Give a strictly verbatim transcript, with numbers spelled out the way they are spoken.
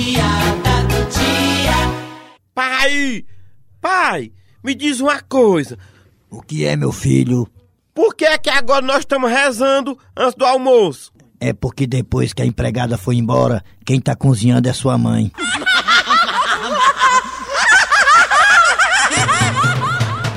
piada do dia. Pai, pai, me diz uma coisa. O que é, meu filho? Por que é que agora nós estamos rezando antes do almoço? É porque depois que a empregada foi embora, quem tá cozinhando é sua mãe.